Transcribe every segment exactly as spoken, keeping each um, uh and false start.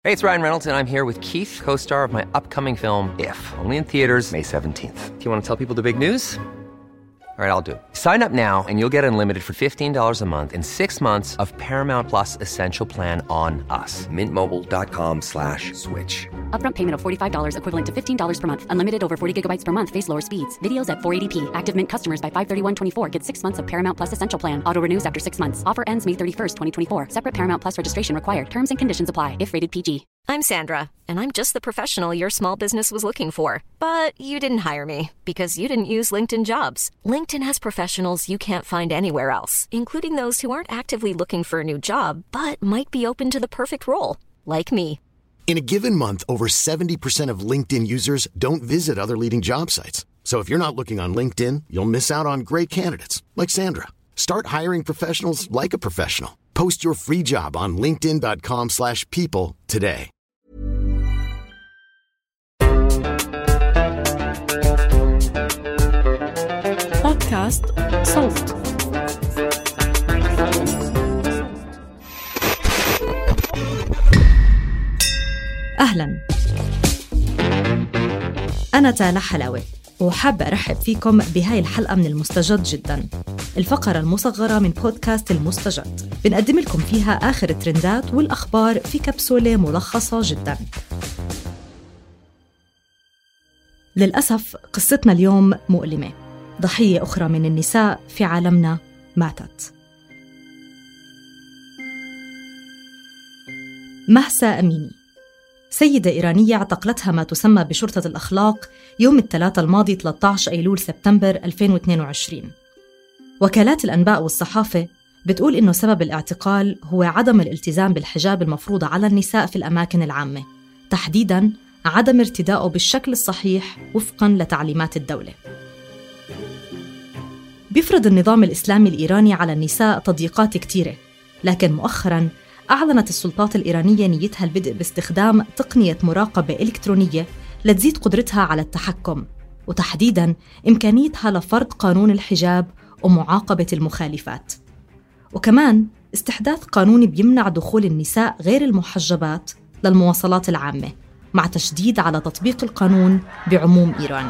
Hey, it's Ryan Reynolds, and I'm here with Keith, co-star of my upcoming film, If, only in theaters May seventeenth. Do you want to tell people the big news? All right, I'll do it. Sign up now and you'll get unlimited for fifteen dollars a month and six months of Paramount Plus Essential Plan on us. Mint Mobile dot com slash switch. Upfront payment of forty-five dollars equivalent to fifteen dollars per month. Unlimited over forty gigabytes per month. Face lower speeds. Videos at four eighty p. Active Mint customers by five thirty-one twenty-four get six months of Paramount Plus Essential Plan. Auto renews after six months. Offer ends May thirty-first, twenty twenty-four. Separate Paramount Plus registration required. Terms and conditions apply if rated P G. I'm Sandra, and I'm just the professional your small business was looking for. But you didn't hire me because you didn't use LinkedIn Jobs. LinkedIn has professionals you can't find anywhere else, including those who aren't actively looking for a new job, but might be open to the perfect role, like me. In a given month, over seventy percent of LinkedIn users don't visit other leading job sites. So if you're not looking on LinkedIn, you'll miss out on great candidates like Sandra. Start hiring professionals like a professional. Post your free job on linkedin dot com slash people today. بودكاست صوت. أهلاً، أنا تالا حلاوة وحابة أرحب فيكم بهاي الحلقة من المستجد جداً، الفقرة المصغرة من بودكاست المستجد. بنقدم لكم فيها آخر الترندات والأخبار في كبسولة ملخصة جداً. للأسف قصتنا اليوم مؤلمة. ضحية أخرى من النساء في عالمنا ماتت. مهسا أميني، سيدة إيرانية اعتقلتها ما تسمى بشرطة الأخلاق يوم الثلاثاء الماضي ثلاثة عشر أيلول سبتمبر ألفين واثنين وعشرين. وكالات الأنباء والصحافة بتقول إنه سبب الاعتقال هو عدم الالتزام بالحجاب المفروض على النساء في الأماكن العامة، تحديداً عدم ارتدائه بالشكل الصحيح وفقاً لتعليمات الدولة. بيفرض النظام الإسلامي الإيراني على النساء تضييقات كتيرة، لكن مؤخراً أعلنت السلطات الإيرانية نيتها البدء باستخدام تقنية مراقبة إلكترونية لتزيد قدرتها على التحكم، وتحديداً إمكانيتها لفرض قانون الحجاب ومعاقبة المخالفات، وكمان استحداث قانون بيمنع دخول النساء غير المحجبات للمواصلات العامة، مع تشديد على تطبيق القانون بعموم إيران.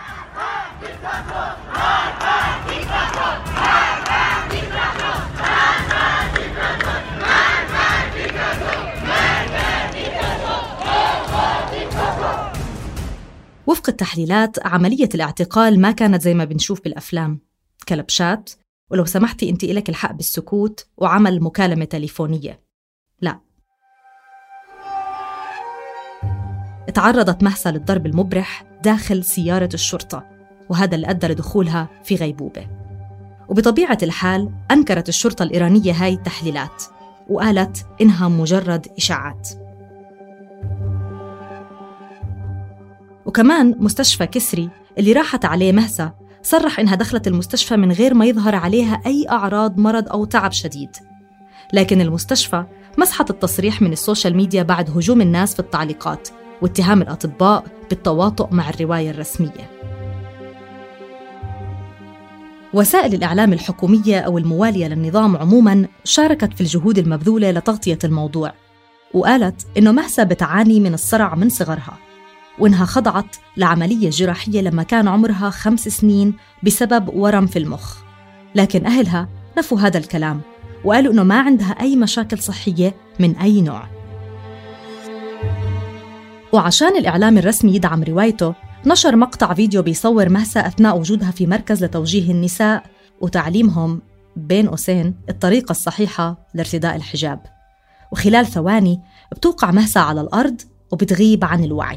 وفق التحليلات، عملية الاعتقال ما كانت زي ما بنشوف بالأفلام، كلبشات ولو سمحتي أنت إلك الحق بالسكوت وعمل مكالمة تليفونية. لا، تعرضت مهسا للضرب المبرح داخل سيارة الشرطة، وهذا اللي أدى لدخولها في غيبوبة. وبطبيعة الحال أنكرت الشرطة الإيرانية هاي التحليلات وقالت إنها مجرد إشاعات. وكمان مستشفى كسري اللي راحت عليه مهسا صرح إنها دخلت المستشفى من غير ما يظهر عليها أي أعراض مرض أو تعب شديد، لكن المستشفى مسحت التصريح من السوشيال ميديا بعد هجوم الناس في التعليقات واتهام الأطباء بالتواطؤ مع الرواية الرسمية. وسائل الإعلام الحكومية أو الموالية للنظام عموماً شاركت في الجهود المبذولة لتغطية الموضوع، وقالت إنه مهسا بتعاني من الصرع من صغرها، وإنها خضعت لعملية جراحية لما كان عمرها خمس سنين بسبب ورم في المخ. لكن أهلها نفوا هذا الكلام وقالوا إنه ما عندها أي مشاكل صحية من أي نوع. وعشان الإعلام الرسمي يدعم روايته، نشر مقطع فيديو بيصور مهسا أثناء وجودها في مركز لتوجيه النساء وتعليمهم بين قوسين الطريقة الصحيحة لارتداء الحجاب. وخلال ثواني بتوقع مهسا على الأرض وبتغيب عن الوعي.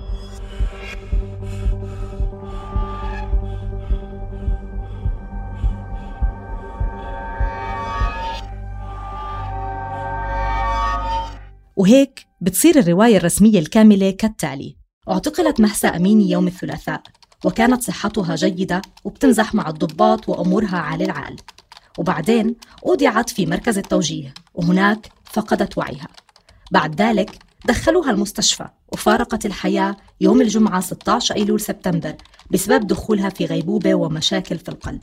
وهيك بتصير الرواية الرسمية الكاملة كالتالي: اعتقلت مهسا أميني يوم الثلاثاء، وكانت صحتها جيدة وبتمزح مع الضباط وأمورها عال العال، وبعدين أودعت في مركز التوجيه وهناك فقدت وعيها. بعد ذلك دخلوها المستشفى وفارقت الحياة يوم الجمعة ستة عشر أيلول سبتمبر بسبب دخولها في غيبوبة ومشاكل في القلب.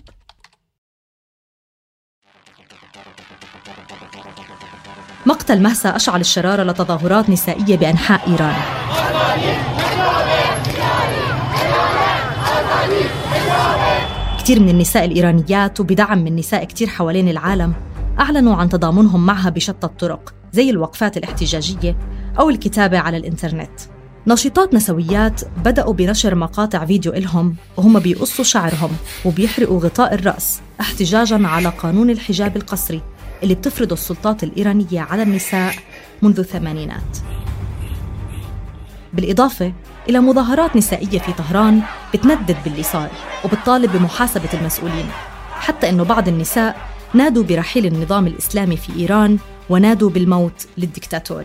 مقتل مهسا أشعل الشرارة لتظاهرات نسائية بأنحاء إيران. كتير من النساء الإيرانيات وبدعم من نساء كتير حوالين العالم أعلنوا عن تضامنهم معها بشتى الطرق، زي الوقفات الاحتجاجية أو الكتابة على الإنترنت. ناشطات نسويات بدأوا بنشر مقاطع فيديو إلهم وهم بيقصوا شعرهم وبيحرقوا غطاء الرأس احتجاجاً على قانون الحجاب القصري اللي بتفرضه السلطات الإيرانية على النساء منذ الثمانينات. بالإضافة إلى مظاهرات نسائية في طهران بتندد باللي صار وبتطالب بمحاسبة المسؤولين، حتى إنه بعض النساء نادوا برحيل النظام الإسلامي في إيران ونادوا بالموت للديكتاتور.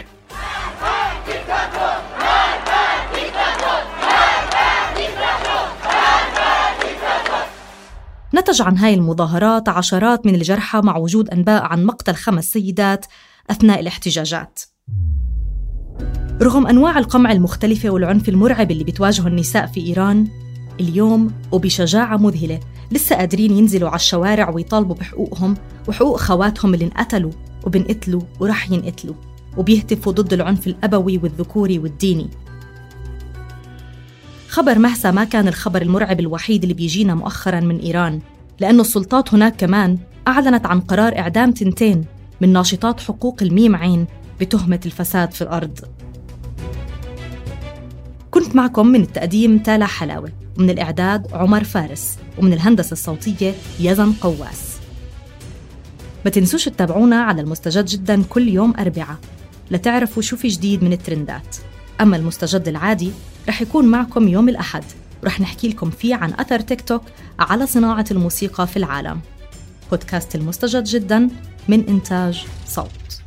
نتج عن هاي المظاهرات عشرات من الجرحى مع وجود أنباء عن مقتل خمس سيدات أثناء الاحتجاجات. رغم أنواع القمع المختلفة والعنف المرعب اللي بتواجهه النساء في إيران، اليوم وبشجاعة مذهلة لسه قادرين ينزلوا على الشوارع ويطالبوا بحقوقهم وحقوق خواتهم اللي انقتلوا وبنقتلوا ورح ينقتلوا، وبيهتفوا ضد العنف الأبوي والذكوري والديني. خبر مهسا ما كان الخبر المرعب الوحيد اللي بيجينا مؤخراً من إيران، لأنه السلطات هناك كمان أعلنت عن قرار إعدام تنتين من ناشطات حقوق الميم عين بتهمة الفساد في الأرض. كنت معكم من التقديم تالا حلاوة، ومن الإعداد عمر فارس، ومن الهندسة الصوتية يزن قواس. ما تنسوش تتابعونا على المستجد جداً كل يوم أربعة لتعرفوا شو في جديد من الترندات. أما المستجد العادي رح يكون معكم يوم الأحد، ورح نحكي لكم فيه عن أثر تيك توك على صناعة الموسيقى في العالم. بودكاست المستجد جداً من إنتاج صوت.